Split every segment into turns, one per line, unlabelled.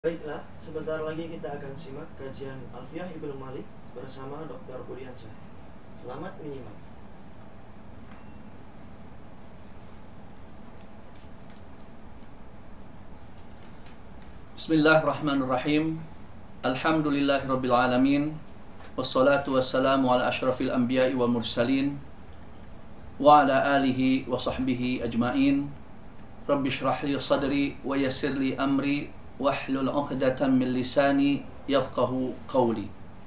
Baiklah, sebentar lagi kita akan simak kajian Alfiyah Ibnu Malik bersama Dr. Budiansyah. Selamat menyimak.
Bismillahirrahmanirrahim. Alhamdulillahirabbil alamin. Wassalatu wassalamu ala asyrafil anbiya'i wal mursalin wa ala alihi wa sahbihi ajmain. Rabbi shrah li sadri wa yassir li amri wahlul 'uqdatam min lisani yafqahu qawli.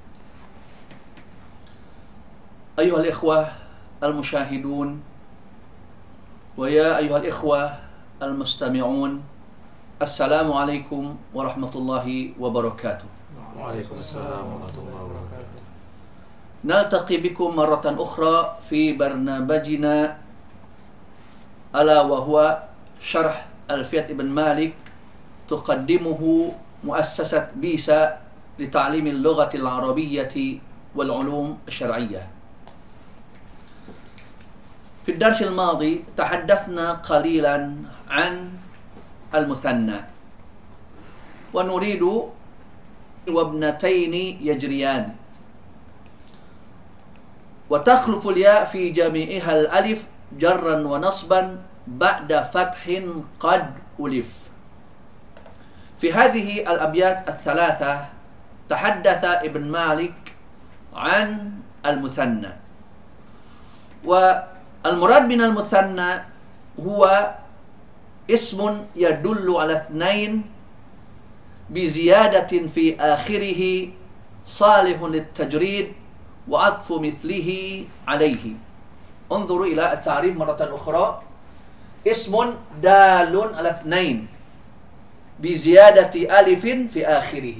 Ayuhal ikhwah al-musyahidun wa ya ayuhal ikhwah al-mustami'un, Assalamualaikum warahmatullahi wabarakatuh.
Waalaikumsalam warahmatullahi wabarakatuh.
Naltaqi bikum marratan ukhra fi barnamijina ala wa huwa syarh Alfiyah Ibn Malik tuqaddimuhu muassasat BISA li ta'lim al-lughah al-arabiyyah wal 'ulum asy-syar'iyyah. في الدرس الماضي تحدثنا قليلا عن المثنى ونريد وابنتين يجريان وتخلف الياء في جميعها الألف جرا ونصبا بعد فتح قد ألف. في هذه الأبيات الثلاثة تحدث ابن مالك عن المثنى، والمراد من المثنى هو اسم يدل على اثنين بزيادة في آخره صالح للتجريد وعطف مثله عليه. انظروا إلى التعريف مرة أخرى. اسم دال على اثنين بزيادة ألف في آخره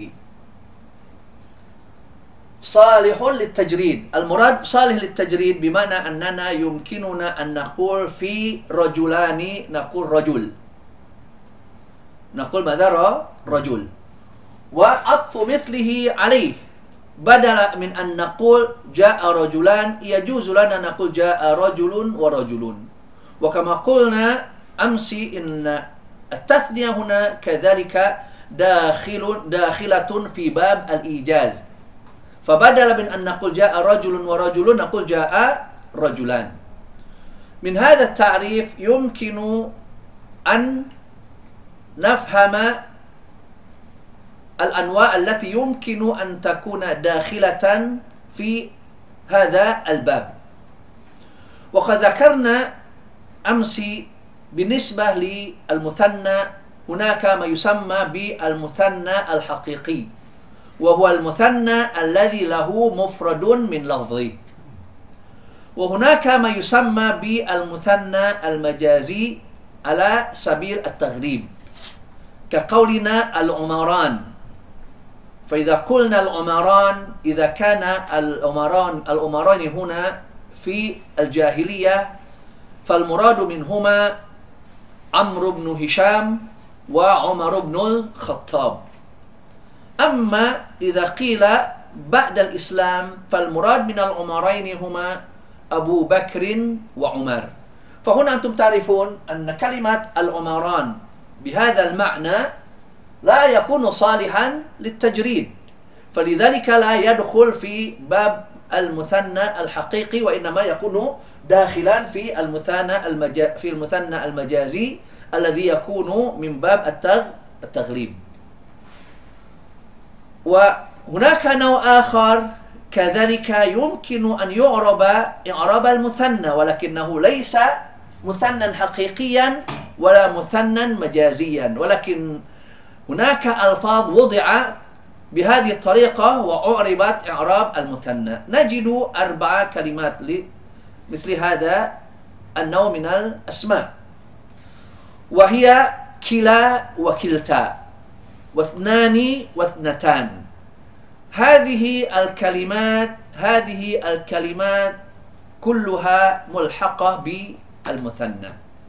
صالح للتجريد. المراد صالح للتجريد بمعنى أننا يمكننا أن نقول في رجلان نقول رجل، نقول ماذا؟ رجل. وعطف مثله عليه، بدل من أن نقول جاء رجلان يجوز لنا نقول جاء رجل ورجل. وكما قلنا أمس إن التثنية هنا كذلك داخلة في باب الإيجاز، فبدل من أن نقول جاء رجل ورجل نقول جاء رجلان. من هذا التعريف يمكن أن نفهم الأنواع التي يمكن أن تكون داخلة في هذا الباب. وقد ذكرنا أمس بالنسبة للمثنى هناك ما يسمى بالمثنى الحقيقي، وهو المثنى الذي له مفرد من لفظه، وهناك ما يسمى بالمثنى المجازي على سبيل التغليب كقولنا العمران. فإذا قلنا العمران إذا كان العمران هنا في الجاهلية فالمراد منهما عمرو بن هشام وعمر بن الخطاب. أما إذا قيل بعد الإسلام فالمراد من العمرين هما أبو بكر وعمر. فهنا أنتم تعرفون أن كلمة العمران بهذا المعنى لا يكون صالحا للتجريد، فلذلك لا يدخل في باب المثنى الحقيقي، وإنما يكون داخلا في المثنى المجازي الذي يكون من باب التغليب. وهناك نوع آخر كذلك يمكن أن يعرب إعراب المثنى، ولكنه ليس مثنى حقيقيا ولا مثنى مجازيا، ولكن هناك ألفاظ وضع بهذه الطريقة وأعربت إعراب المثنى. نجد 4 كلمات مثل هذا النوع من الأسماء، وهي كلا وكلتا واثنان واثنتان. هذه الكلمات كلها ملحقة بالمثنى.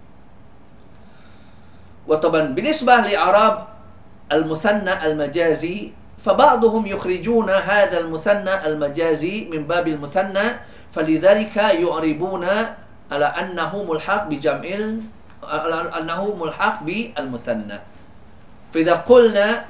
وطبعا بالنسبة لإعراب المثنى المجازي فبعضهم يخرجون هذا المثنى المجازي من باب المثنى، فلذلك يعربون على أنه ملحق بالمثنى. فإذا قلنا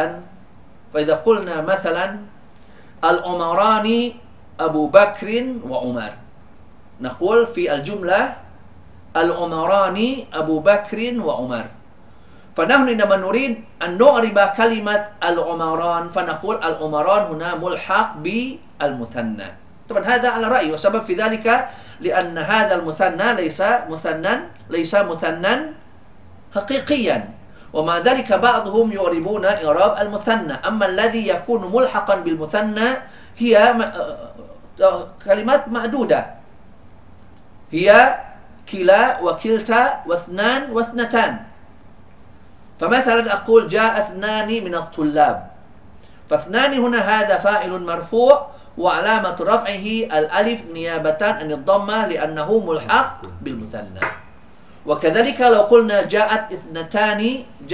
مثلا العمران أبو بكر وعمر، نقول في الجملة العمران أبو بكر وعمر، فنحن عندما نريد أن نعرب كلمة العمران فنقول العمران هنا ملحق بالمثنى. طبعا هذا على رأيي، وسبب في ذلك لأن هذا المثنى ليس مثنى حقيقيا، ومع ذلك بعضهم يعربون إعراب المثنى. أما الذي يكون ملحقا بالمثنى هي كلمات معدودة، هي كلا وكلتا واثنان واثنتان. فمثلا أقول جاء اثنان من الطلاب، فاثنان هنا هذا فاعل مرفوع وعلامة رفعه الألف نيابة عن الضمة لأنه ملحق بالمثنى. وكذلك لو قلنا جاءت اثنتان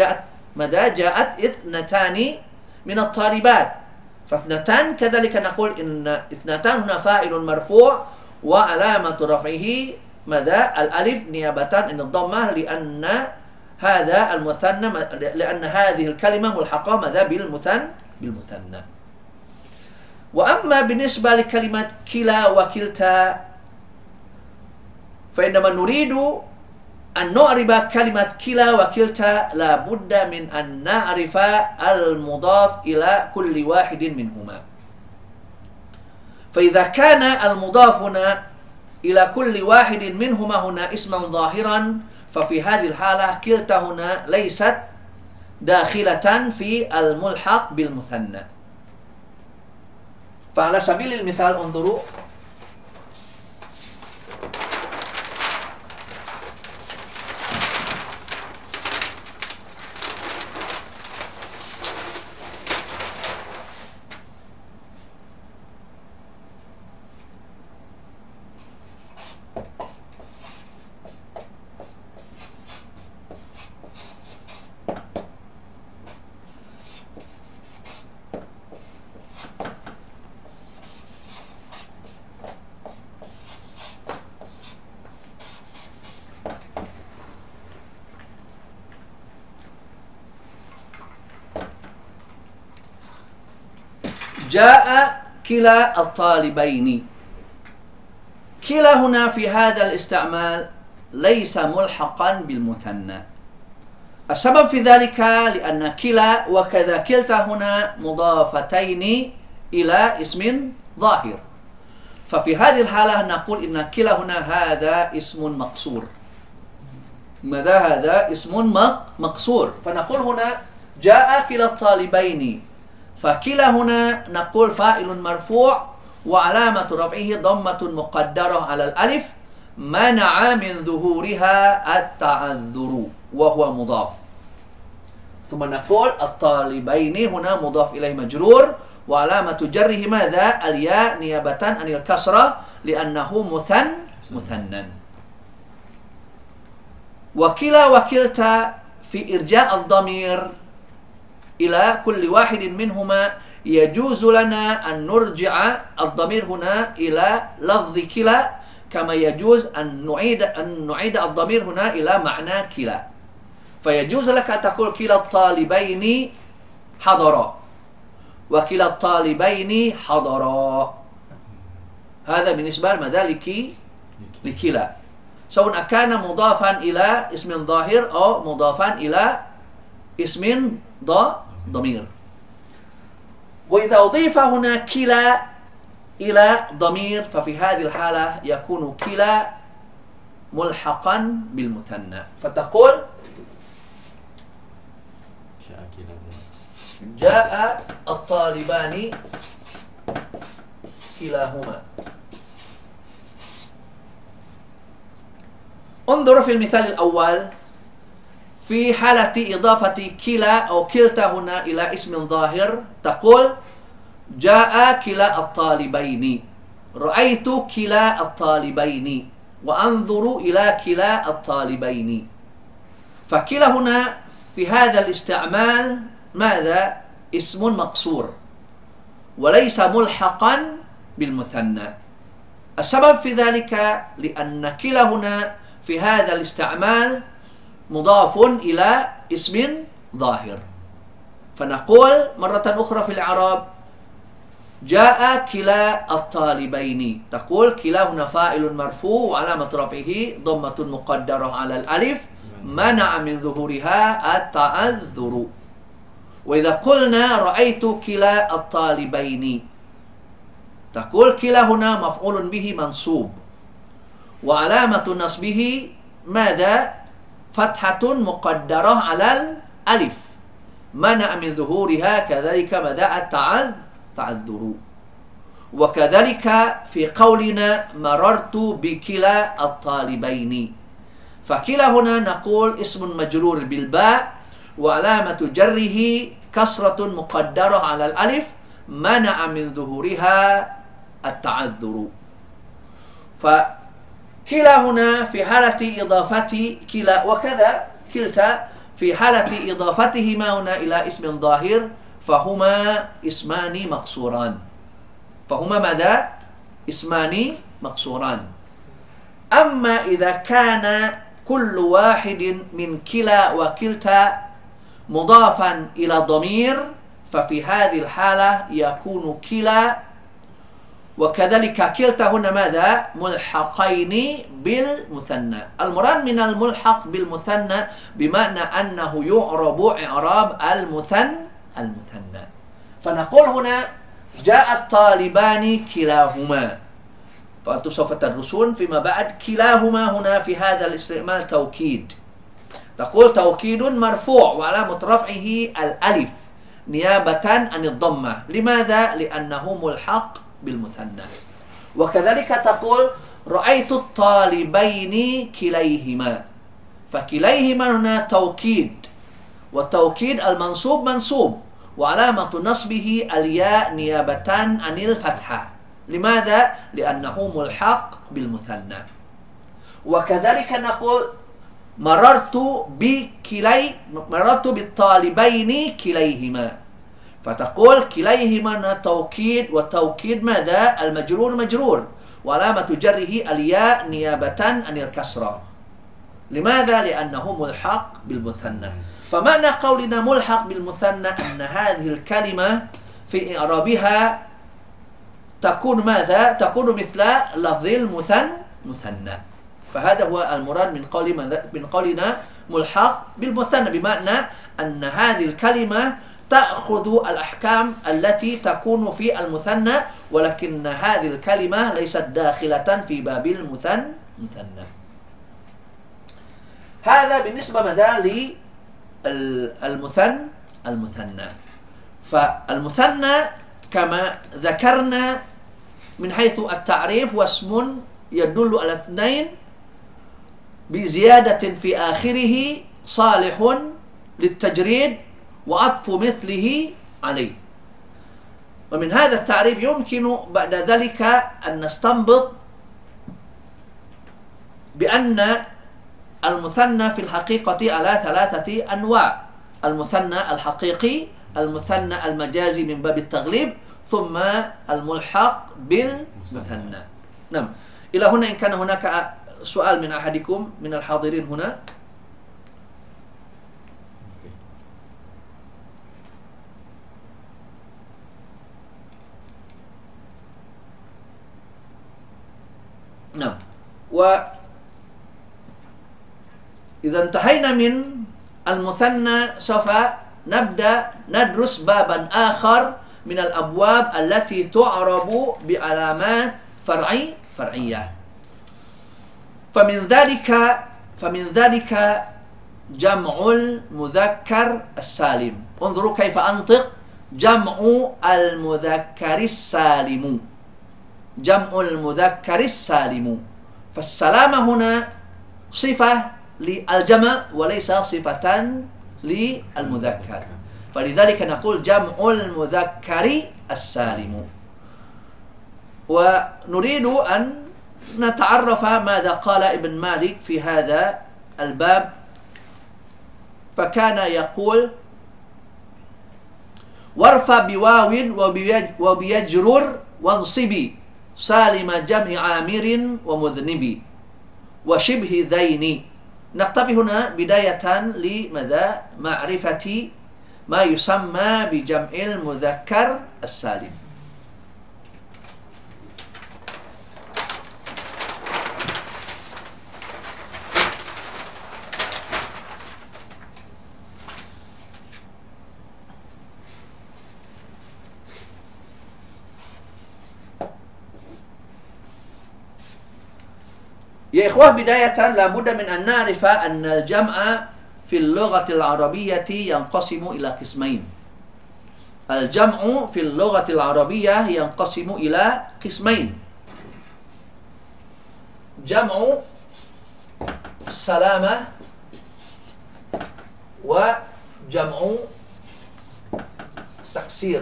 من الطالبات، فاثنتان كذلك نقول إن اثنتان هنا فاعل مرفوع وعلامة رفعه الألف نيابة عن الضمة لأن هذا المثنى، لأن هذه الكلمة ملحقة بالمثنى. وأما بالنسبة لكلمة كلا وكلتا، فإنما نريد أن نعرب كلمة كلا وكلتا لا بد من أن نعرف المضاف إلى كل واحد منهما. فإذا كان المضاف هنا إلى كل واحد منهما هنا اسما ظاهرا، ففي هذه الحالة كلتا هنا ليست داخلة في الملحق بالمثنى. فعلى سبيل المثال انظروا، جاء كلا الطالبين. كلا هنا في هذا الاستعمال ليس ملحقا بالمثنى. السبب في ذلك لأن كلا وكذا كلتا هنا مضافتين إلى اسم ظاهر، ففي هذه الحالة نقول إن كلا هنا هذا اسم مقصور. ماذا هذا اسم مقصور؟ فنقول هنا جاء كلا الطالبين، فكلا هنا نقول فاعل مرفوع وعلامة رفعه ضمة مقدرة على الألف منع من ظهورها التعذر وهو مضاف. ثم نقول الطالبين هنا مضاف إليه مجرور وعلامة جره ماذا؟ الياء نيابة عن الكسرة لأنه مثنى. وكلا وكلتا في إرجاء الضمير إلى كل واحد منهما يجوز لنا أن نرجع الضمير هنا إلى لفظ كلا، كما يجوز أن نعيد الضمير هنا إلى معنى كلا. فيجوز لك أن تقول كلا الطالبين حضرا وكلا الطالبين حضرا. هذا بالنسبة لماذا؟ لكلا، سواء كان مضافا إلى اسم ظاهر أو مضافا إلى اسم ضمير. وإذا أضيف هنا كلا إلى ضمير ففي هذه الحالة يكون كلا ملحقا بالمثنى، فتقول جاء الطالبان كلاهما. انظروا في المثال الأول، في حالة إضافة كلا أو كلتا هنا إلى اسم ظاهر تقول جاء كلا الطالبين، رأيت كلا الطالبين، وأنظر إلى كلا الطالبين. فكلا هنا في هذا الاستعمال ماذا؟ اسم مقصور وليس ملحقا بالمثنى. السبب في ذلك لأن كلا هنا في هذا الاستعمال مضاف إلى اسم ظاهر، فنقول مرة أخرى في الإعراب جاء كلا الطالبين، تقول كلا هنا فاعل مرفوع وعلامة رفعه ضمة مقدرة على الألف منع من ظهورها التعذر. وإذا قلنا رأيت كلا الطالبين، تقول كلا هنا مفعول به منصوب وعلامة نصبه ماذا؟ فتحة مقدرة على الألف منع من ظهورها كذلك ماذا؟ التعذر. وكذلك في قولنا مررت بكلا الطالبين، فكلا هنا نقول اسم مجرور بالباء وعلامة جره كسرة مقدرة على الألف منع من ظهورها التعذر. فكلا هنا في حالة إضافة كلا وكذا كلتا في حالة إضافتهما هنا إلى اسم ظاهر فهما اسمان مقصوران. فهما ماذا؟ اسمان مقصوران. أما إذا كان كل واحد من كلا وكلتا مضافا إلى ضمير ففي هذه الحالة يكون كلا وكذلك كلتا هنا ماذا؟ ملحقين بالمثنى. المراد من الملحق بالمثنى بمعنى أنه يعرب إعراب المثنى. فنقول هنا جاء الطالبان كلاهما، فأنتم سوف تدرسون فيما بعد كلاهما هنا في هذا الاستعمال توكيد، تقول توكيد مرفوع وعلامة رفعه الألف نيابة عن الضمة. لماذا؟ لأنه ملحق بالمثنى. وكذلك تقول رأيت الطالبين كليهما، فكليهما هنا توكيد، والتوكيد المنصوب منصوب وعلامة نصبه الياء نيابة عن الفتحة. لماذا؟ لأنه ملحق بالمثنى. وكذلك نقول مررت بالطالبين كليهما، فتقول كليهما توكيد، والتوكيد ماذا؟ المجرور مجرور وعلامة جره الياء نيابة عن الكسرة. لماذا؟ لأنه ملحق بالمثنى. فمعنى قولنا ملحق بالمثنى أن هذه الكلمة في إعرابها تكون ماذا؟ تكون مثل لفظ المثنى. فهذا هو المراد من قولنا ملحق بالمثنى، بمعنى أن هذه الكلمة تأخذ الأحكام التي تكون في المثنى، ولكن هذه الكلمة ليست داخلة في باب المثنى. هذا بالنسبة ماذا؟ المثنى. فالمثنى كما ذكرنا من حيث التعريف واسم يدل على اثنين بزيادة في آخره صالح للتجريد وعطف مثله عليه. ومن هذا التعريف يمكن بعد ذلك أن نستنبط بأن المثنى في الحقيقة على ثلاثة أنواع: المثنى الحقيقي، المثنى المجازي من باب التغليب، ثم الملحق بالمثنى. نعم. إلى هنا إن كان هناك سؤال من أحدكم من الحاضرين هنا. نعم. وإذا انتهينا من المثنى سوف نبدأ ندرس بابا آخر من الأبواب التي تعرب بعلامات فرعية. فمن ذلك جمع المذكر السالم. انظروا كيف أنطق جمع المذكر السالم. جمع المذكر السالم. فالسلامة هنا صفة للجمع وليس صفة للمذكر، فلذلك نقول جمع المذكر السالم. ونريد أن نتعرف ماذا قال ابن مالك في هذا الباب، فكان يقول وارفع بواو وبيجرر وانصبي سالم جمع عامر ومذنب وشبه ذين. نقتفي هنا بداية لماذا؟ معرفة ما يسمى بجمع المذكر السالم. يا إخوة بداية لابد من أن نعرف أن الجمع في اللغة العربية ينقسم إلى قسمين. الجمع في اللغة العربية ينقسم إلى قسمين: جمع السلامة وجمع تكسير.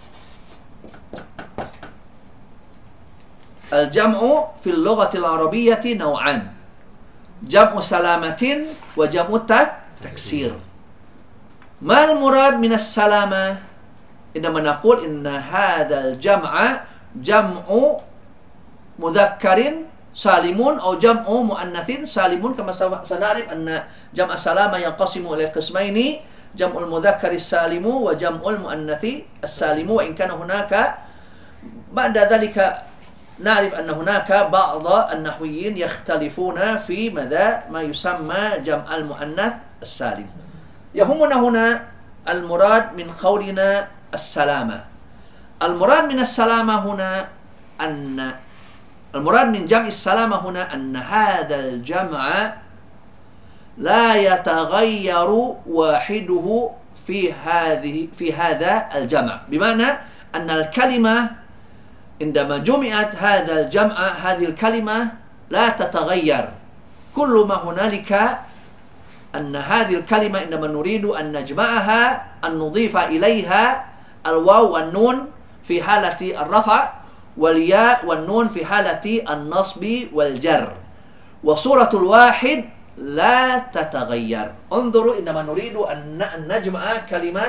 الجمع في اللغة العربية نوعان: جمع سلامة وجمع تكسير. ما المراد من السلامة؟ عندما نقول إن هذا الجمع جمع مذكر سالم أو جمع مؤنث سالم، كما سنعرف أن جمع السلامة ينقسم إلى قسمين: جمع المذكر السالم وجمع المؤنث السالم. وإن كان هناك بعد ذلك نعرف أن هناك بعض النحويين يختلفون في ماذا ما يسمى جمع المؤنث السالم. يهمنا هنا المراد من قولنا السلامة. المراد من السلامة هنا أن المراد من جمع السلامة هنا أن هذا الجمع لا يتغير واحده في هذا الجمع، بمعنى أن الكلمة عندما جمعت هذا الجمع هذه الكلمة لا تتغير. كل ما هنالك أن هذه الكلمة عندما نريد أن نجمعها أن نضيف إليها الواو والنون في حالة الرفع والياء والنون في حالة النصب والجر، وصورة الواحد لا تتغير. انظروا عندما نريد أن نجمع كلمة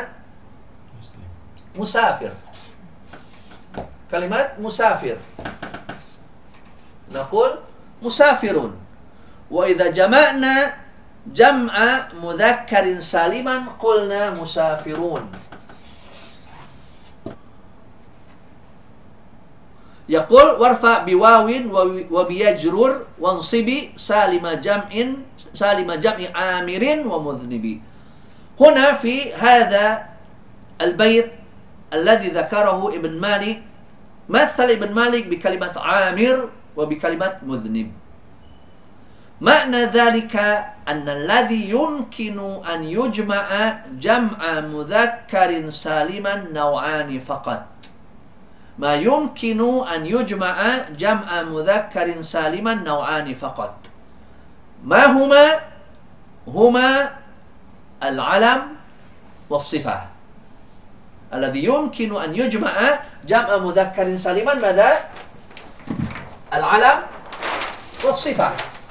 مسافر، كلمة مسافر نقول مسافرون. وإذا جمعنا جمع مذكر سالما قلنا مسافرون. يقول وارفع بواو وبيجرر وانصب سالم جمع عامر ومذنب. هنا في هذا البيت الذي ذكره ابن مالك مثل ابن مالك بكلمة عامر وبكلمة مذنب. معنى ذلك أن الذي يمكن أن يجمع جمع مذكر سالما نوعان فقط. ما يمكن أن يجمع جمع مذكر سالما نوعان فقط. ما هما العلم والصفة. الذي يمكن أن يجمع جمع مذكر سالما ماذا؟ العلم والصفة.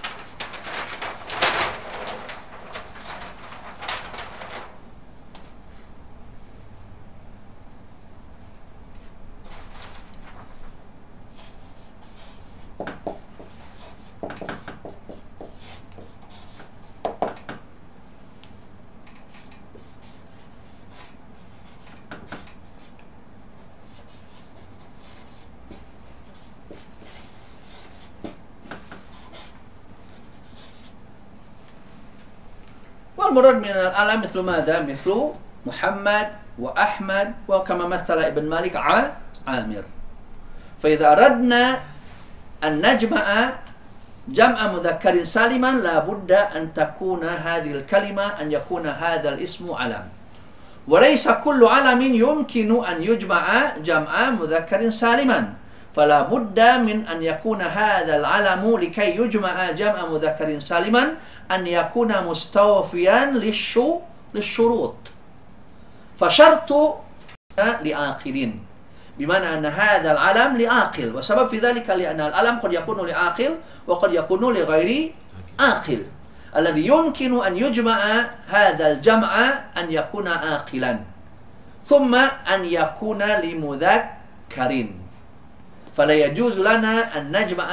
والمراد من العلم مثل ماذا؟ مثل محمد وأحمد، وكما مثل ابن مالك عامر. فإذا أردنا أن نجمع جمع مذكر سالما لابد أن تكون هذه الكلمة أن يكون هذا الاسم علم، وليس كل علم يمكن أن يجمع جمع مذكر سالما، فلا بد من أن يكون هذا العلم لكي يجمع جمع مذكر سالما أن يكون مستوفيا للشروط. فشرط لعاقلين، بمعنى أن هذا العلم لعاقل، وسبب في ذلك لأن العلم قد يكون لعاقل وقد يكون لغير عاقل. الذي يمكن أن يجمع هذا الجمع أن يكون عاقلا، ثم أن يكون لمذكر. فلا يجوز لنا أن نجمع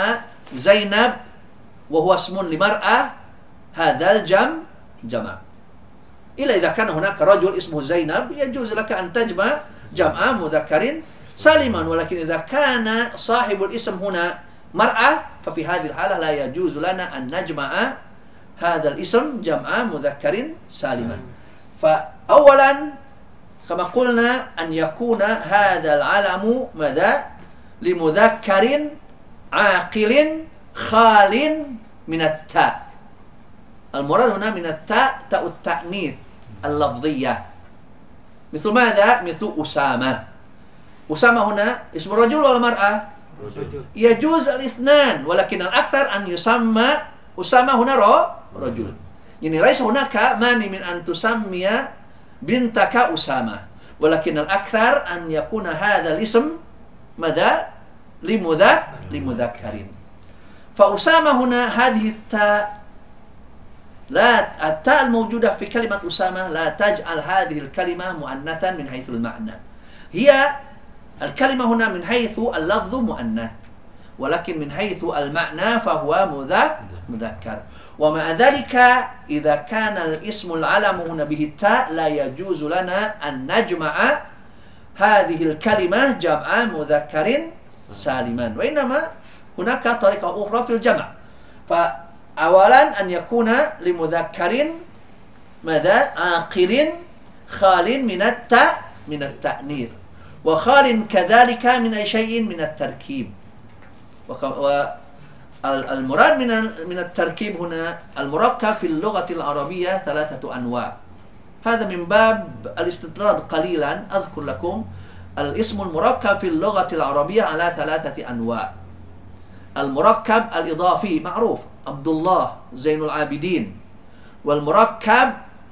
زينب وهو اسم لمرأة هذا الجمع. إلا إذا كان هناك رجل اسمه زينب يجوز لك أن تجمع جمع مذكر سالما، ولكن إذا كان صاحب الاسم هنا مرأة ففي هذه الحالة لا يجوز لنا أن نجمع هذا الاسم جمع مذكر سالما. فأولا كما قلنا أن يكون هذا العلم ماذا؟ لمذكر عاقل خال من التاء. المراد هنا من التاء تاء التأنيث اللفظية. مثل ماذا؟ مثل أسامة. أسامة هنا اسم الرجل ولا المرأة؟ يجوز الاثنان، ولكن الأكثر أن يسمى أسامة هنا رجل. يعني ليس هناك مانع من أن تسمي بنتك أسامة، ولكن الأكثر أن يكون هذا الاسم ماذا؟ لمذكر. فأسامة هنا هذه التاء التاء الموجودة في كلمة أسامة لا تجعل هذه الكلمة مؤنثا من حيث المعنى. هي الكلمة هنا من حيث اللفظ مؤنث، ولكن من حيث المعنى فهو مذكر. ومع ذلك إذا كان الاسم العلم هنا به التاء لا يجوز لنا أن نجمع هذه الكلمة جمع مذكر سالما، وإنما هناك طريقة أخرى في الجمع. فأولا أن يكون لمذكر ماذا؟ عاقل خال من التأنيث، وخال كذلك من أي شيء من التركيب. والمراد من التركيب هنا المركب في اللغة العربية 3 أنواع. هذا من باب الاستطراد قليلا أذكر لكم الاسم المركب في اللغة العربية على 3 أنواع. المركب الإضافي معروف عبد الله زين العابدين، والمركب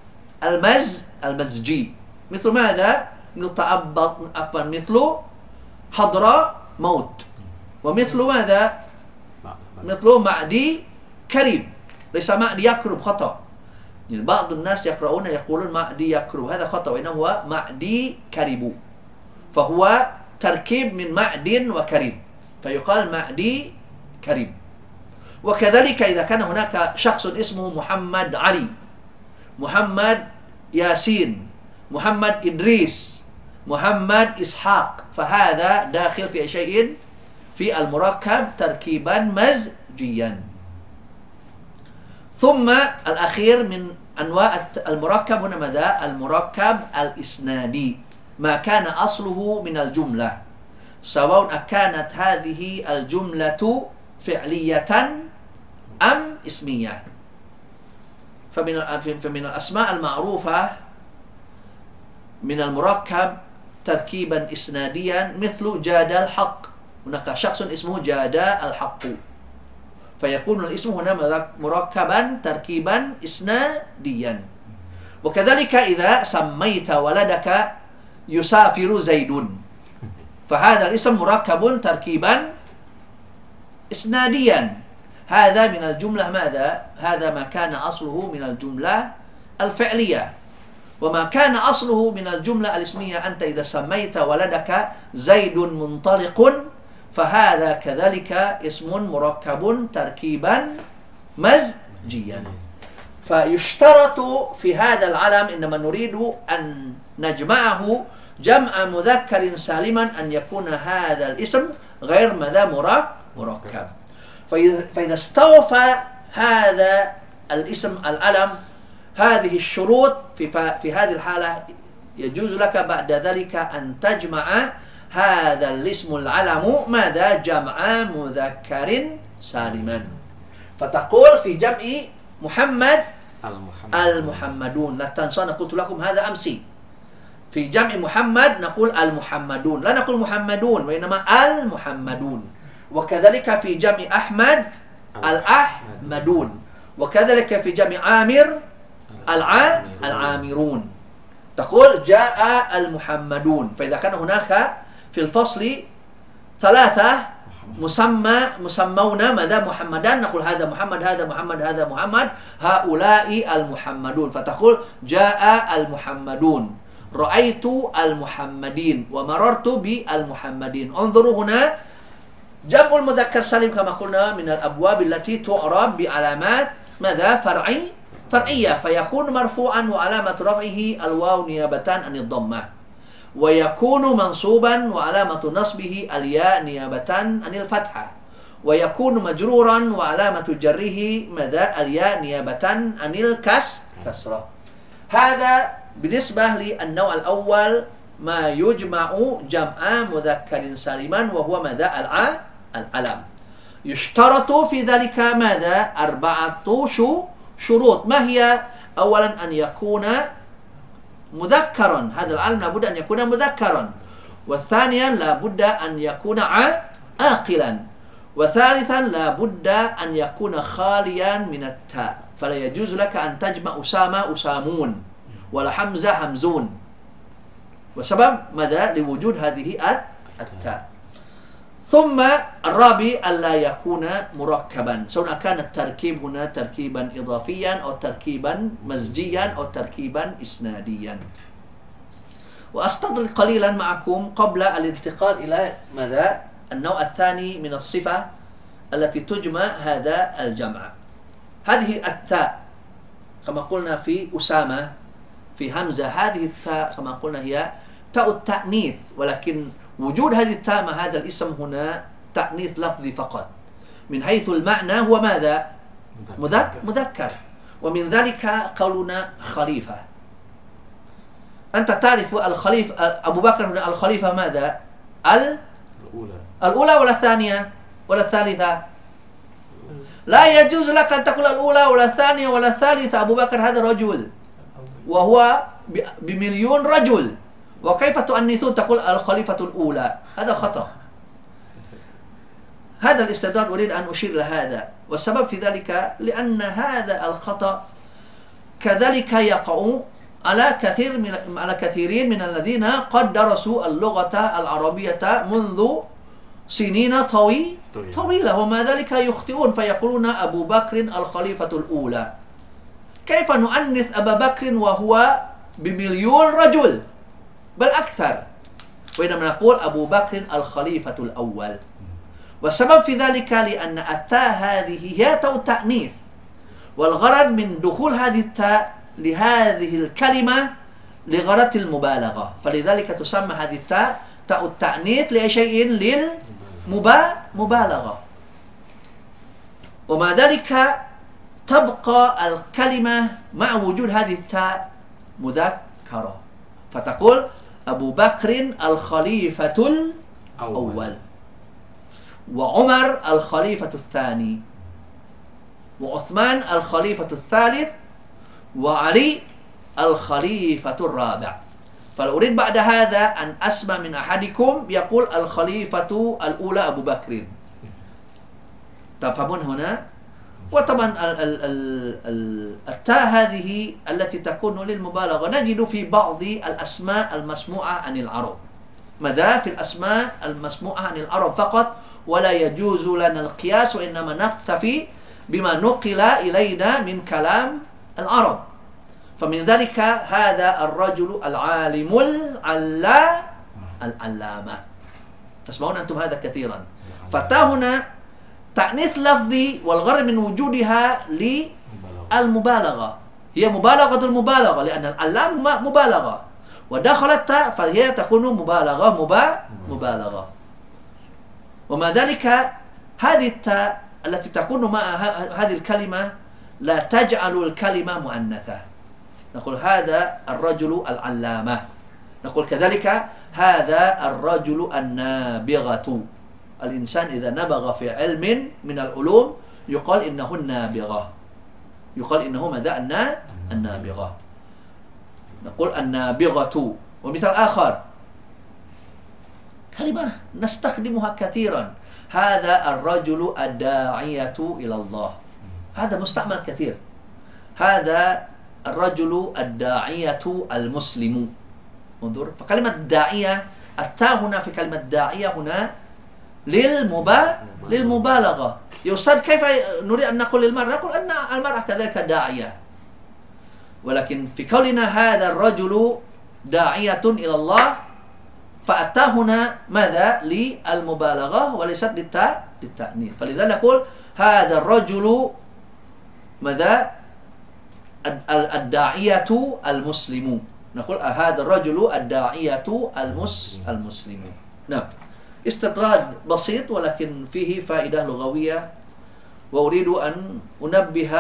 المزجي مثل ماذا؟ مثل حضر موت، ومثل ماذا؟ مثل معدي كريم. ليس معدي يكرب خطأ، يعني بعض الناس يقولون معدي يكرب، هذا خطأ، وإنه هو معدي كريب، فهو تركيب من معد وكريم فيقال معدي كريم. وكذلك إذا كان هناك شخص اسمه محمد علي، محمد ياسين، محمد إدريس، محمد إسحاق، فهذا داخل في شيء في المركب تركيبا مزجيا. ثم الأخير من أنواع المركب هنا ماذا؟ المركب الإسنادي، ما كان أصله من الجملة، سواء كانت هذه الجملة فعلية أم اسمية. فمن الأسماء المعروفة من المركب تركيبا إسناديا مثل جاد الحق، هناك شخص اسمه جاد الحق، فيكون الاسم هنا مركبا تركيبا إسناديا. وكذلك إذا سميت ولدك يسافر زيد، فهذا الاسم مركب تركيبا إسناديا. هذا من الجملة ماذا؟ هذا ما كان أصله من الجملة الفعلية. وما كان أصله من الجملة الاسمية، أنت إذا سميت ولدك زيد منطلق فهذا كذلك اسم مركب تركيبا مزجيا. فيشترط في هذا العلم إنما نريد أن نجمعه جمع مذكر سالما أن يكون هذا الاسم غير ماذا؟ مركب. فإذا استوفى هذا الاسم العلم هذه الشروط في هذه الحالة يجوز لك بعد ذلك أن تجمع هذا الاسم العلم ماذا؟ جمع مذكر سالما. فتقول في جمع محمد المحمدون. لا تنسوا أنا قلت لكم هذا أمسي، في جمع محمد نقول المحمدون، لا نقول محمدون وإنما المحمدون. وكذلك في جمع أحمد الأحمدون، وكذلك في جمع عامر العامرون. تقول جاء المحمدون. فإذا كان هناك في الفصل 3 مسمون ماذا؟ محمدان، نقول هذا محمد، هذا محمد، هذا محمد، هؤلاء المحمدون. فتقول جاء المحمدون، رأيت المحمدين، ومررت بالمحمدين. انظروا هنا جمع المذكر سالم كما قلنا من الأبواب التي تعرب بعلامات ماذا؟ فرعية فيكون مرفوعا وعلامة رفعه الواو نيابة عن الضمة ويكون منصوبا وعلامة نصبه الياء نيابة عن الفتحة ويكون مجرورا وعلامة جره ماذا الياء نيابة عن الكسرة. هذا بالنسبة للنوع الأول ما يجمع جمع مذكر سالما وهو ماذا العلم. يشترط في ذلك ماذا 4 شروط. ما هي؟ أولا أن يكون مذكرا، هذا العلم لابد أن يكون مذكرا، والثانيا لابد أن يكون عاقلا، وثالثا لابد أن يكون خاليا من التاء، فلا يجوز لك أن تجمع أسامة أسامون ولا حمزة حمزون، وسبب ماذا؟ لوجود هذه التاء. ثم الرابع ألا يكون مركبا، سواء كان التركيب هنا تركيبا إضافيا أو تركيبا مزجيا أو تركيبا إسناديا. وأستطرد قليلا معكم قبل الانتقال إلى ماذا؟ النوع الثاني من الصفة التي تجمع هذا الجمع. هذه التاء كما قلنا في أسامة في همزة، هذه التاء كما قلنا هي تاء التأنيث، ولكن وجود هذه التاء مع هذا الاسم هنا تأنيث لفظي فقط، من حيث المعنى هو ماذا؟ مذكر. ومن ذلك قولنا خليفة. أنت تعرف الخليفة أبو بكر هنا الخليفة ماذا؟ الأولى ولا الثانية ولا الثالثة؟ لا يجوز لك أن تقول الأولى ولا الثانية ولا الثالثة. أبو بكر هذا رجل وهو بمليون رجل، وكيف تؤنثون تقول الخليفة الأولى؟ هذا خطأ. هذا الاستدلال أريد أن أشير لهذا، والسبب في ذلك لأن هذا الخطأ كذلك يقع على كثيرين من الذين قد درسوا اللغة العربية منذ سنين طويلة وما ذلك يخطئون فيقولون أبو بكر الخليفة الأولى. كيف نؤنث أبا بكر وهو بمليون رجل بل أكثر، وإنما نقول أبو بكر الخليفة الأول. والسبب في ذلك لأن التاء هذه هي تاء التأنيث، والغرض من دخول هذه التاء لهذه الكلمة لغرض المبالغة، فلذلك تسمى هذه التاء تاء التأنيث لأي شيء للمبالغة. ومع ذلك تبقى الكلمة مع وجود هذه التاء مذكرة، فتقول أبو بكر الخليفة الأول، وعمر الخليفة الثاني، وعثمان الخليفة الثالث، وعلي الخليفة الرابع. فلو أريد بعد هذا أن أسمع من أحدكم يقول الخليفة الأولى أبو بكر، تفهمون هنا؟ وطبعا التاء هذه التي تكون للمبالغة نجد في بعض الأسماء المسموعة عن العرب، ماذا؟ في الأسماء المسموعة عن العرب فقط، ولا يجوز لنا القياس، وإنما نكتفي بما نقل إلينا من كلام العرب. فمن ذلك هذا الرجل العالم العلامة، تسمعون أنتم هذا كثيرا. فتا هنا تأنيث لفظي، والغرض من وجودها للمبالغة، هي مبالغة المبالغة، لأن العلام مبالغة، ودخلت تاء فهي تكون مبالغة. ومع ذلك هذه التاء التي تكون مع هذه الكلمة لا تجعل الكلمة مؤنثة. نقول هذا الرجل العلامة، نقول كذلك هذا الرجل النابغة. الإنسان إذا نبغ في علم من العلوم يقال إنه النابغة، يقال إنه ماذا؟ النابغة. نقول النابغة. ومثال آخر كلمة نستخدمها كثيرا، هذا الرجل الداعية إلى الله، هذا مستعمل كثير. هذا الرجل الداعية المسلم، انظر، فكلمة داعية التاء هنا في كلمة داعية هنا للمبالغة. يا أستاذ كيف نريد أن نقول للمرأة؟ نقول أن المرأة كذلك داعية، ولكن في قولنا هذا الرجل داعية إلى الله فالتاء هنا ماذا؟ للمبالغة وليست للتأنيث. فلذا نقول هذا الرجل ماذا؟ الداعية المسلم. نقول هذا الرجل الداعية المسلم. نعم. استطراد بسيط ولكن فيه فائدة لغوية، وأريد أن أنبه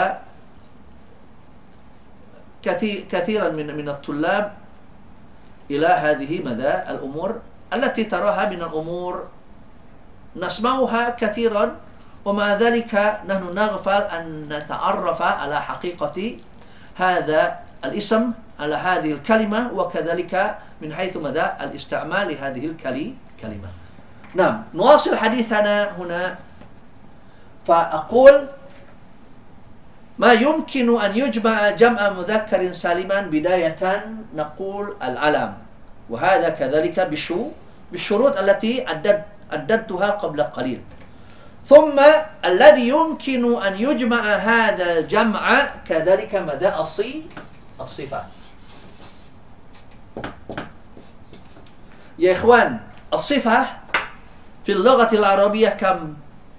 كثيرا من الطلاب إلى هذه مدى الأمور التي تراها من الأمور نسمعها كثيرا، ومع ذلك نحن نغفل أن نتعرف على حقيقة هذا الاسم، على هذه الكلمة، وكذلك من حيث مدى الاستعمال لهذه الكلمة. نعم، نواصل حديثنا هنا. فأقول ما يمكن أن يجمع جمع مذكر سالما بداية نقول العلم، وهذا كذلك بالشروط التي عددتها قبل قليل. ثم الذي يمكن أن يجمع هذا الجمع كذلك مدى الصفة. يا إخوان، الصفة في اللغة العربية كم؟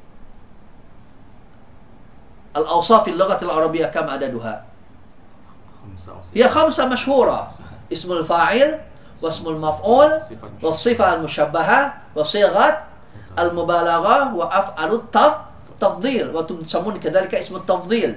الأوصاف في اللغة العربية كم عددها؟ هي 5 مشهورة: اسم الفاعل، واسم المفعول، والصفة المشبهة، وصيغة المبالغة، وأفعال التفضيل، وتسمون كذلك اسم التفضيل.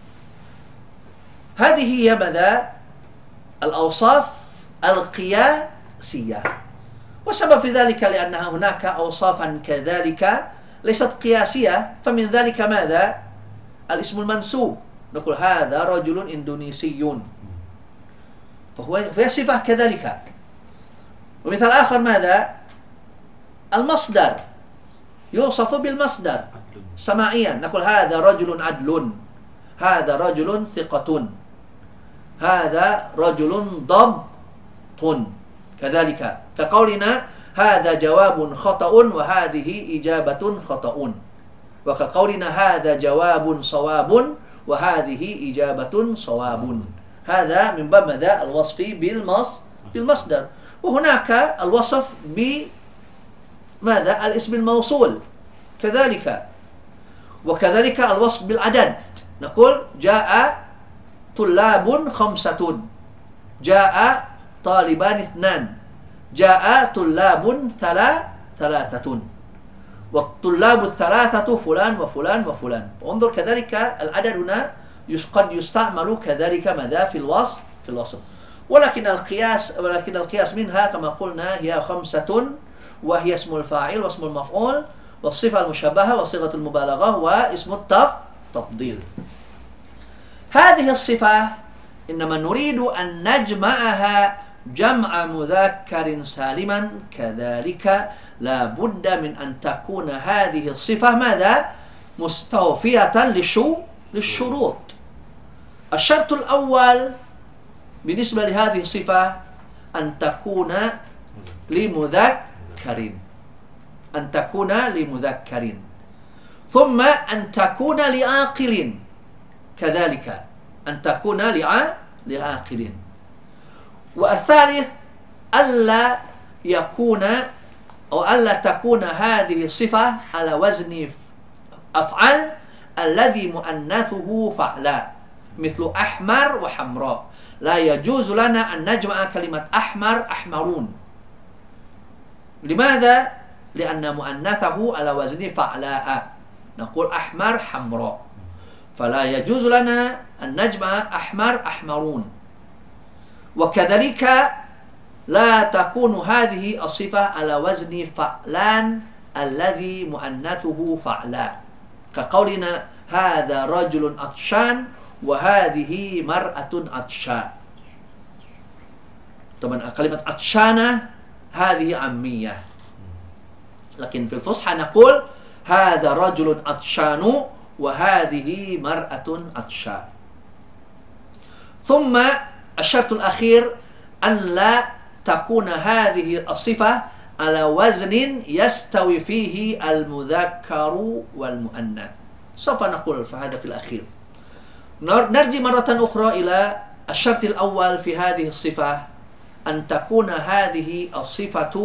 هذه هي مدى الأوصاف القياسية. والسبب في ذلك لأن هناك أوصافا كذلك ليست قياسية، فمن ذلك ماذا؟ الاسم المنسوب، نقول هذا رجل إندونيسي، فهو صفة كذلك. ومثال آخر ماذا؟ المصدر، يوصف بالمصدر سماعيا، نقول هذا رجل عدل، هذا رجل ثقة، هذا رجل ضبط، كذلك كقولنا هذا جواب خطأ وهذه إجابة خطأ، وكقولنا هذا جواب صواب وهذه إجابة صواب. هذا من باب مدى الوصف بالمصدر. وهناك الوصف بماذا؟ الاسم الموصول كذلك، وكذلك الوصف بالعدد، نقول جاء طلاب 5، جاء طالبان 2، جاء طلاب 3، والطلاب 3 فلان وفلان وفلان. انظر كذلك العدد هنا قد يستعمل كذلك ماذا؟ في الوصف. ولكن القياس منها كما قلنا هي 5، وهي اسم الفاعل، واسم المفعول، والصفة المشبهة، وصيغة المبالغة، واسم التفضيل. هذه الصفة إنما نريد أن نجمعها جمع مذكر سالما، كذلك لا بد من أن تكون هذه الصفة ماذا؟ مستوفية للشروط. الشرط الأول بالنسبة لهذه الصفة أن تكون لمذكر، ثم أن تكون لعاقل، كذلك أن تكون لعاقل. والثالث ألا يكون أو ألا تكون هذه الصفة على وزن أفعل الذي مؤنثه فعلا، مثل أحمر وحمراء. لا يجوز لنا أن نجمع كلمة أحمر أحمرون. لماذا؟ لأن مؤنثه على وزن فعلاء، نقول أحمر حمراء، فلا يجوز لنا أن نجمع أحمر أحمرون. وكذلك لا تكون هذه الصفة على وزن فعلان الذي مؤنثه فعلاء، كقولنا هذا رجل عطشان وهذه مرأة عطشاء. طبعا كلمة عطشانة هذه عامية، لكن في الفصحى نقول هذا رجل عطشان وهذه مرأة عطشاء. ثم الشرط الأخير أن لا تكون هذه الصفة على وزن يستوي فيه المذكر والمؤنث. سوف نقول فهذا في الأخير. نرجع مرة أخرى إلى الشرط الأول في هذه الصفة، أن تكون هذه الصفة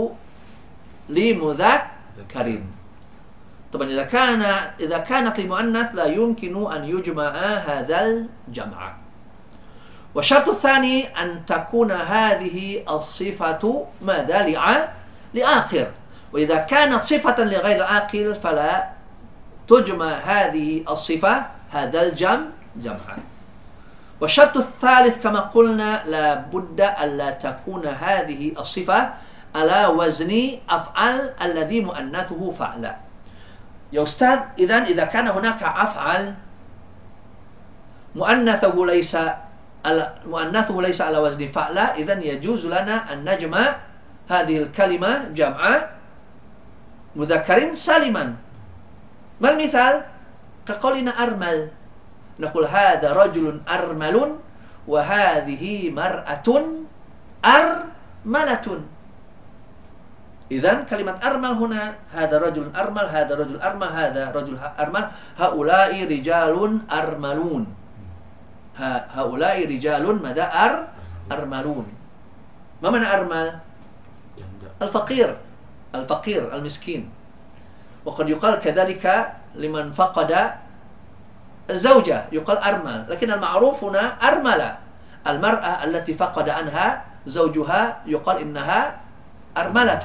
لمذكر. طبعا إذا كانت لمؤنث لا يمكن أن يجمع هذا الجمع. والشرط الثاني أن تكون هذه الصفة ماذا؟ لعاقل. وإذا كانت صفة لغير العاقل فلا تجمع هذه الصفة هذا جمعا. والشرط الثالث كما قلنا لا بد ألا تكون هذه الصفة على وزن أفعل الذي مؤنثه فعلا. يا أستاذ إذا كان هناك أفعل مؤنثه ليس على وزن فعلا، إذن يجوز لنا أن نجمع هذه الكلمة جمع مذكر سالما. ما المثال؟ كقولنا أرمل، نقول هذا رجل أرمل وهذه مرأة أرملة. إذن كلمة أرمل هنا هذا رجل أرمل، هذا رجل أرمل، هذا رجل أرمل، هؤلاء رجال أرملون، هؤلاء رجال ماذا؟ أرملون. ما معنى أرمل؟ الفقير المسكين. وقد يقال كذلك لمن فقد الزوجة يقال أرمل، لكن المعروف هنا أرملة. المرأة التي فقد عنها زوجها يقال إنها أرملة.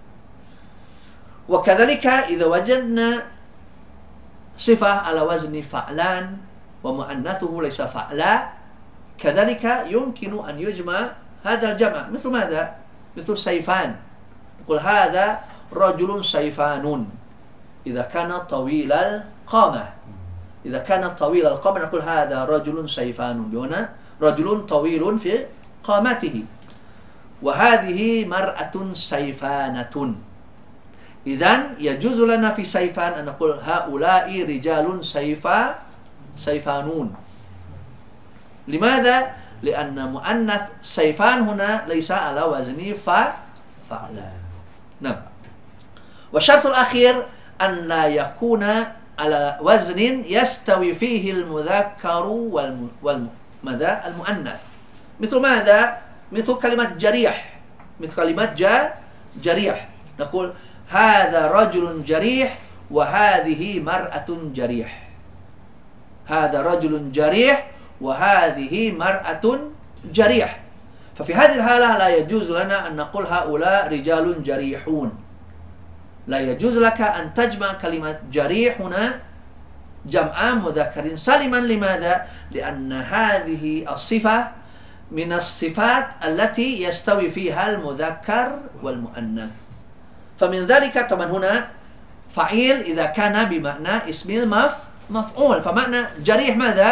وكذلك إذا وجدنا صفة على وزن فعلان ومؤنثه ليس فعلا، كذلك يمكن أن يجمع هذا الجمع. مثل ماذا؟ مثل سيفان، نقول هذا رجل سيفان إذا كان طويل القامة. إذا كان طويل القامة نقول هذا رجل سيفان، هنا رجل طويل في قامته. وهذه مرأة سيفانة. إذن يجوز لنا في سيفان أن نقول هؤلاء رجال سيفانون. لماذا؟ لأن مؤنث سيفان هنا ليس على وزن فعلا. نعم. والشرط الأخير أن لا يكون على وزن يستوي فيه المذكر والمؤنث. مثل ماذا؟ مثل كلمة جريح، مثل كلمة جريح، نقول هذا رجل جريح وهذه مرأة جريح، هذا رجل جريح وهذه مرأة جريح. ففي هذه الحالة لا يجوز لنا أن نقول هؤلاء رجال جريحون. لا يجوز لك أن تجمع كلمة جريح هنا جمع مذكر سالما. لماذا؟ لأن هذه الصفة من الصفات التي يستوي فيها المذكر والمؤنث. فمن ذلك طبعا هنا فعيل إذا كان بمعنى اسم المفعول، فمعنى جريح ماذا؟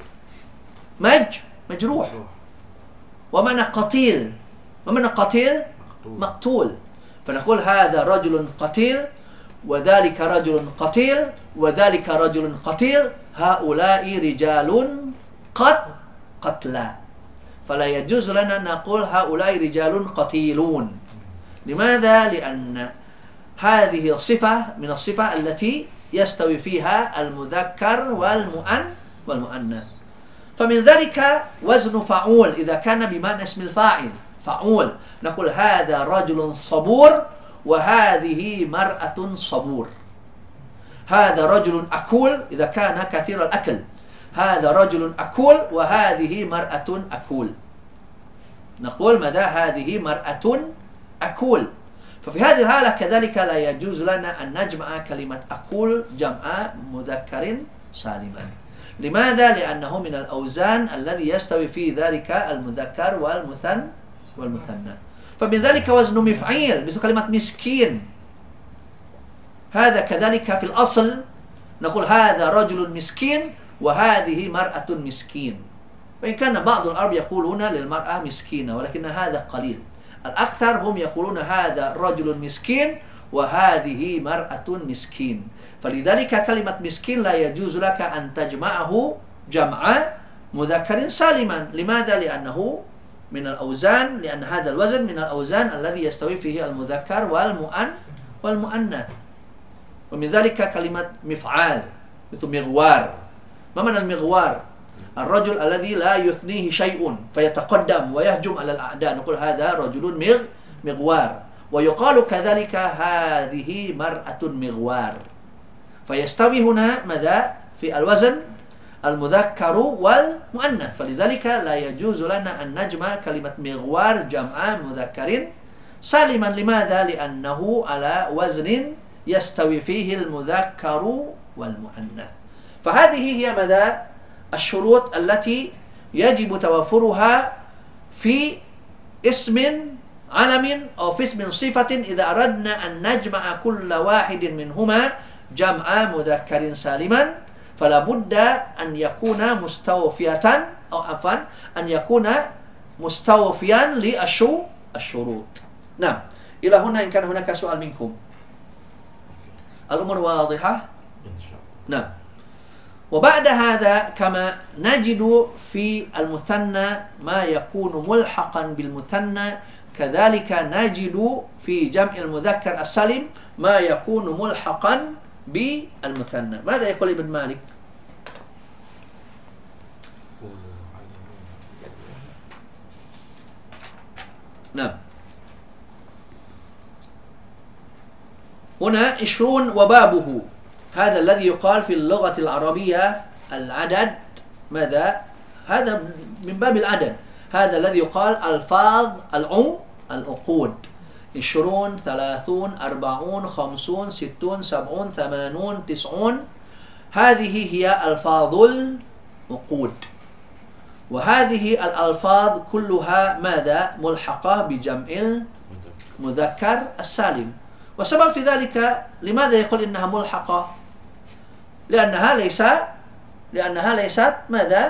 مجروح. ومعنى قتيل، ومعنى قتيل مقتول. فنقول هذا رجل قتيل وذلك رجل قتيل وذلك رجل قتيل، هؤلاء رجال قتلى. فلا يجوز لنا أن نقول هؤلاء رجال قتيلون. لماذا؟ لأن هذه الصفة من الصفة التي يستوي فيها المذكر والمؤنث. فمن ذلك وزن فعول إذا كان بمعنى اسم الفاعل فعول، نقول هذا رجل صبور وهذه مرأة صبور. هذا رجل أكول إذا كان كثير الأكل، هذا رجل أكول وهذه مرأة أكول، نقول ماذا؟ هذه مرأة أكول. ففي هذه الحالة كذلك لا يجوز لنا أن نجمع كلمة أكول جمع مذكر سالما. لماذا؟ لأنه من الأوزان الذي يستوي في ذلك المذكر والمثنى. فمن ذلك وزن مفعيل مثل كلمة مسكين، هذا كذلك في الأصل نقول هذا رجل مسكين وهذه مرأة مسكين. وإن كان بعض العرب يقولون للمرأة مسكينة، ولكن هذا قليل. الأكثر هم يقولون هذا رجل مسكين وهذه مرأة مسكين. فلذلك كلمة مسكين لا يجوز لك أن تجمعه جمع مذكر سالما. لماذا؟ لأنه من الأوزان، لأن هذا الوزن من الأوزان الذي يستوي فيه المذكر والمؤنث. ومن ذلك كلمة مفعال مثل مغوار. ما معنى المغوار؟ الرجل الذي لا يثنيه شيء فيتقدم ويهجم على الأعداء، نقول هذا رجل مغوار. ويقال كذلك هذه مرأة مغوار. فيستوي هنا ماذا؟ في الوزن المذكر والمؤنث. فلذلك لا يجوز لنا أن نجمع كلمة مغوار جمع مذكر سالما. لماذا؟ لأنه على وزن يستوي فيه المذكر والمؤنث. فهذه هي مدى الشروط التي يجب توفرها في اسم علم أو في اسم صفة إذا أردنا أن نجمع كل واحد منهما جمع مذكر سالما، فلا بد أن يكون مستوفية أو عفوا أن يكون مستوفيا للشروط. نعم، إلى هنا إن كان هناك سؤال منكم. الأمور واضحة؟
إن شاء الله.
نعم. وبعد هذا كما نجد في المثنى ما يكون ملحقا بالمثنى، كذلك نجد في جمع المذكر السالم ما يكون ملحقا بالمثنى. ماذا يقول ابن مالك؟ نعم. هنا 20 وبابه، هذا الذي يقال في اللغة العربية العدد. ماذا؟ هذا من باب العدد، هذا الذي يقال ألفاظ العقود: 20 30 40 50 60 70 80 90. هذه هي ألفاظ العقود، وهذه الألفاظ كلها ماذا؟ ملحقة بجمع المذكر السالم. والسبب في ذلك لماذا يقول إنها ملحقة؟ لأنها ليست ماذا؟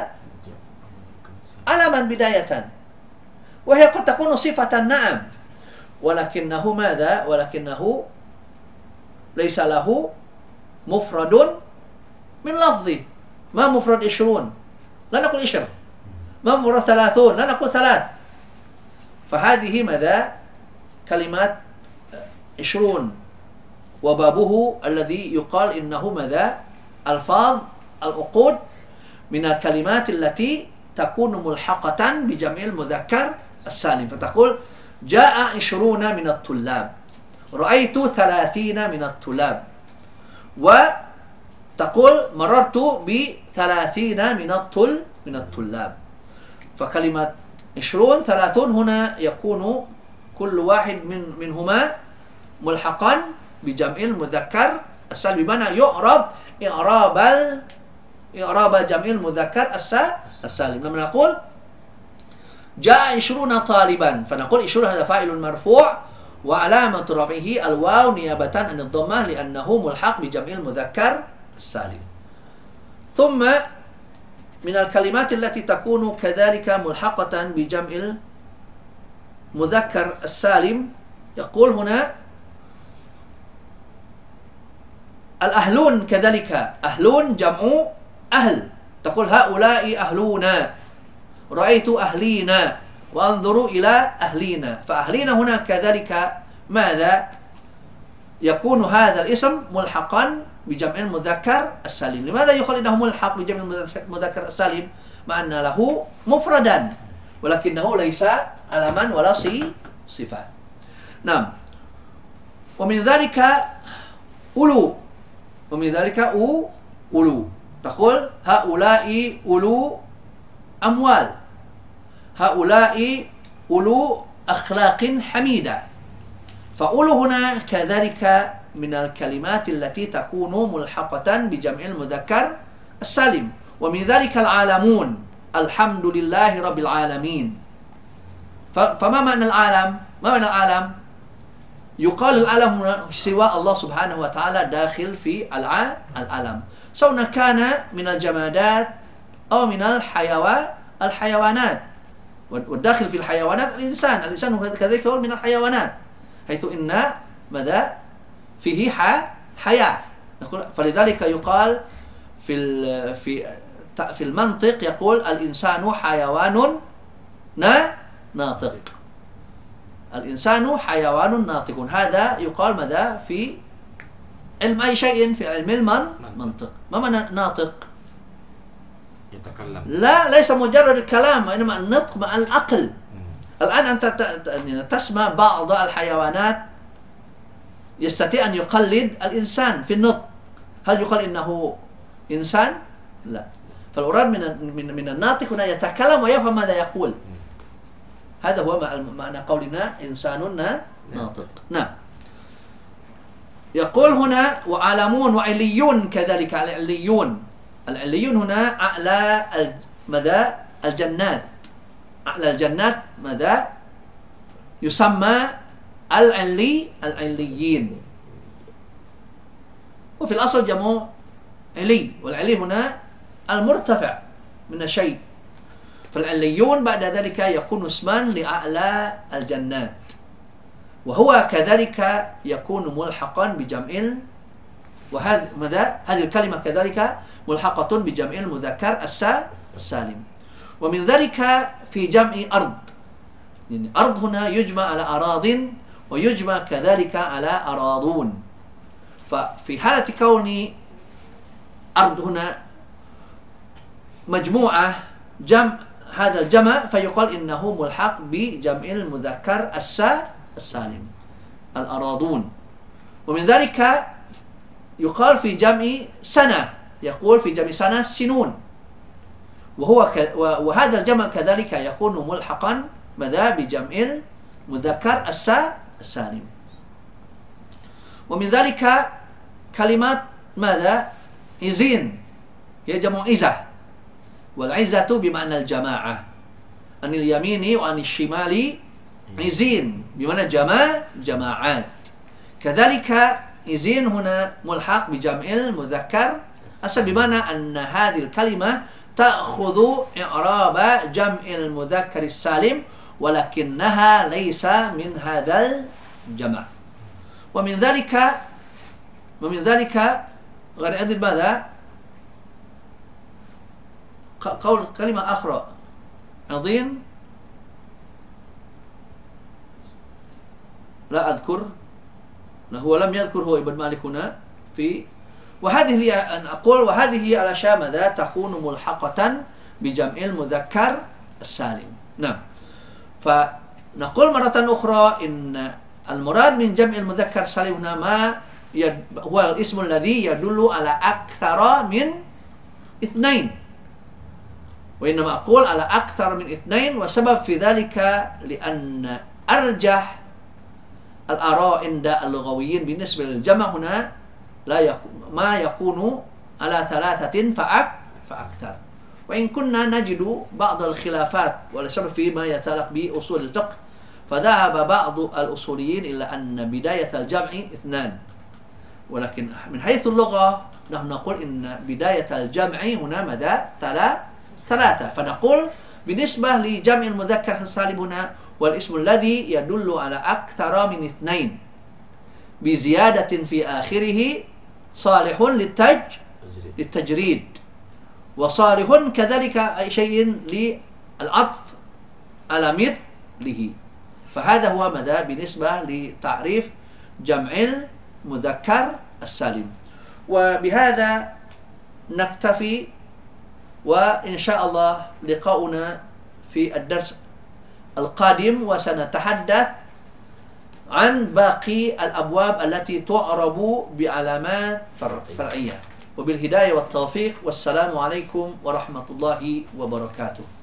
علما بداية، وهي قد تكون صفة نعم، ولكنه ماذا؟ ولكنه ليس له مفرد من لفظه. ما مفرد 20؟ لا نقول 20. ما مفرد 30؟ لا نقول 3. فهذه ماذا؟ كلمات 20 وبابه الذي يقال إنه ماذا؟ ألفاظ العقود من الكلمات التي تكون ملحقة بجمع المذكر السالم. فتقول جاء 20 من الطلاب، رأيت 30 من الطلاب، وتقول مررت ب30 من الطلاب. فكلمة 20 30 هنا يكون كل واحد منهما ملحقا بجمع المذكر السالم، بمعنى يعرب إعراب جمع المذكر السالم. لما نقول جاء 20 طالبا، فنقول 20 هذا فاعل مرفوع وعلامة رفعه الواو نيابة عن الضمة لأنه ملحق بجمع المذكر السالم. ثم من الكلمات التي تكون كذلك ملحقة بجمع المذكر السالم يقول هنا الأهلون، كذلك أهلون جمع أهل، تقول هؤلاء أهلونا، رأيت أهلينا، وأنظروا إلى أهلينا. فأهلينا هنا كذلك ماذا؟ يكون هذا الاسم ملحقا بجمع المذكر السالم. لماذا يقال إنه ملحق بجمع المذكر السالم؟ مع أن له مفردا ولكنه ليس علما ولا صفة. نعم. ومن ذلك أولو، ومن ذلك أولو، تقول هؤلاء أولو أموال، هؤلاء أولو أخلاق حميدة. فأولو هنا كذلك من الكلمات التي تكون ملحقة بجمع المذكر السالم. ومن ذلك العالمون، الحمد لله رب العالمين. فما معنى العالم؟ ما معنى العالم؟ يقال العالم سوى الله سبحانه وتعالى داخل في العالم، سواء كان من الجمادات أو من الحيوانات. والداخل في الحيوانات الإنسان كذلك هو من الحيوانات، حيث إن ماذا؟ فيه حياة. فلذلك يقال في المنطق يقول الإنسان حيوان ناطق، الإنسان حيوان ناطق. هذا يقال ماذا؟ في علم أي شيء، في علم المنطق. ما معنى ناطق؟
يتكلم.
لا، ليس مجرد الكلام، وإنما النطق مع العقل. الآن أنت تسمع بعض الحيوانات يستطيع أن يقلد الإنسان في النطق، هل يقال إنه إنسان؟ لا. فالأراد من الناطق هنا يتكلم ويفهم ماذا يقول. هذا هو معنى قولنا إنسان ناطق. نعم. يقول هنا وعالمون وعليون كذلك. العليون هنا أعلى ماذا الجنات. أعلى الجنات ماذا يسمى العليين. وفي الأصل جمع علي، والعلي هنا المرتفع من الشيء. فالعليون بعد ذلك يكون اسما لأعلى الجنات، وهو كذلك يكون ملحقا بجمع وهذا ماذا هذه الكلمة كذلك ملحقة بجمع المذكر السالم. ومن ذلك في جمع أرض، يعني أرض هنا يجمع على أراض ويجمع كذلك على أراضون. ففي حالة كون أرض هنا مجموعة جمع هذا الجمع فيقال إنه ملحق بجمع المذكر السالم الأراضون. ومن ذلك يقال في جمع سنة، يقول في جمع سنة سنون، وهذا الجمع كذلك يكون ملحقا ماذا بجمع المذكر السالم. ومن ذلك كلمات ماذا عزين هي جمع عزة، والعزة بمعنى الجماعة، عن اليمين وعن الشمال عزين بمعنى جماعات. كذلك عزين هنا ملحق بجمع المذكر بمعنى أن هذه الكلمة تأخذ إعراب جمع المذكر السالم ولكنها ليس من هذا الجمع. ومن ذلك غير عدد ماذا قول كلمة أخرى عظيم لا أذكر، هو لم يذكر هو ابن مالك هنا في. وهذه هي أن أقول وهذه هي الأشياء ماذا تكون ملحقة بجمع المذكر السالم. نعم. فنقول مرة أخرى إن المراد من جمع المذكر السالم هنا ما هو الاسم الذي يدل على أكثر من اثنين، وإنما أقول على أكثر من اثنين، وسبب في ذلك لأن أرجح الآراء عند اللغويين بالنسبة للجمع هنا ما يكون على ثلاثة فأكثر. وإن كنا نجد بعض الخلافات ولسبب فيما يتعلق بأصول الفقه، فذهب بعض الأصوليين إلى أن بداية الجمع اثنان، ولكن من حيث اللغة نحن نقول إن بداية الجمع هنا ماذا ثلاثة. فنقول بالنسبة لجمع المذكر السالم هنا والاسم الذي يدل على أكثر من اثنين بزيادة في آخره صالح للتجريد، وصالح كذلك أي شيء للعطف على مثله. فهذا هو ماذا بالنسبة لتعريف جمع المذكر السالم. وبهذا نكتفي، وإن شاء الله لقاؤنا في الدرس القادم وسنتحدث عن باقي الأبواب التي تعرب بعلامات فرعية. وبالهداية والتوفيق، والسلام عليكم ورحمة الله وبركاته.